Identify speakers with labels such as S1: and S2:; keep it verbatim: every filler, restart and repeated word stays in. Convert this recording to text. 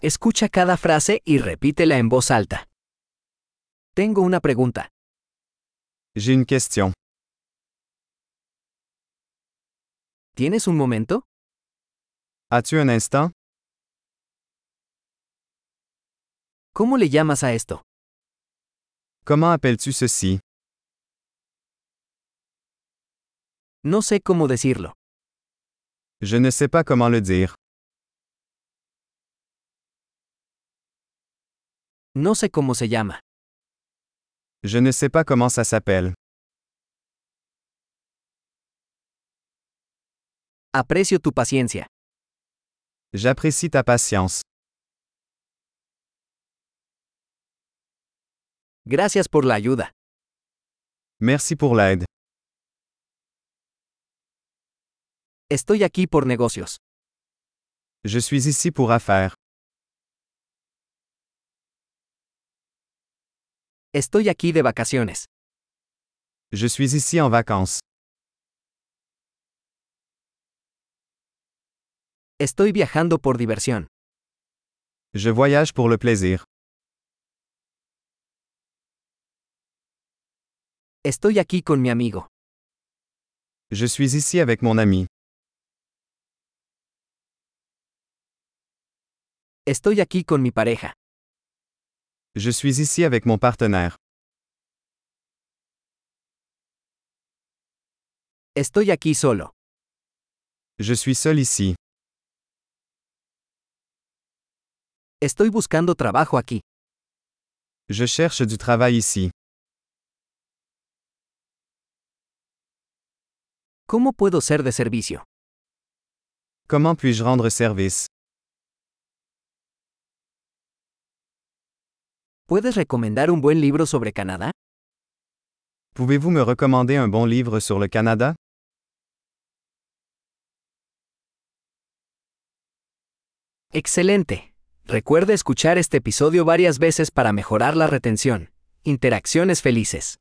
S1: Escucha cada frase y repítela en voz alta. Tengo una pregunta.
S2: J'ai une question.
S1: ¿Tienes un momento?
S2: As-tu un instant?
S1: ¿Cómo le llamas a esto?
S2: Comment appelles-tu ceci?
S1: No sé cómo decirlo.
S2: Je ne sais pas comment le dire.
S1: No sé cómo se llama.
S2: Je ne sais pas comment ça s'appelle.
S1: Aprecio tu paciencia.
S2: J'apprécie ta patience.
S1: Gracias por la ayuda.
S2: Merci pour l'aide.
S1: Estoy aquí por negocios.
S2: Je suis ici pour affaires.
S1: Estoy aquí de vacaciones.
S2: Je suis ici en vacances.
S1: Estoy viajando por diversión.
S2: Je voyage pour le plaisir.
S1: Estoy aquí con mi amigo.
S2: Je suis ici avec mon ami.
S1: Estoy aquí con mi pareja.
S2: Je suis ici avec mon partenaire.
S1: Estoy aquí solo.
S2: Je suis seul ici.
S1: Estoy buscando trabajo aquí.
S2: Je cherche du travail ici.
S1: ¿Cómo puedo ser de servicio?
S2: Comment puis-je rendre service?
S1: ¿Puedes recomendar un buen libro sobre Canadá?
S2: Pouvez-vous me recommander un bon livre sur le Canada?
S1: Excelente. Recuerde escuchar este episodio varias veces para mejorar la retención. Interacciones felices.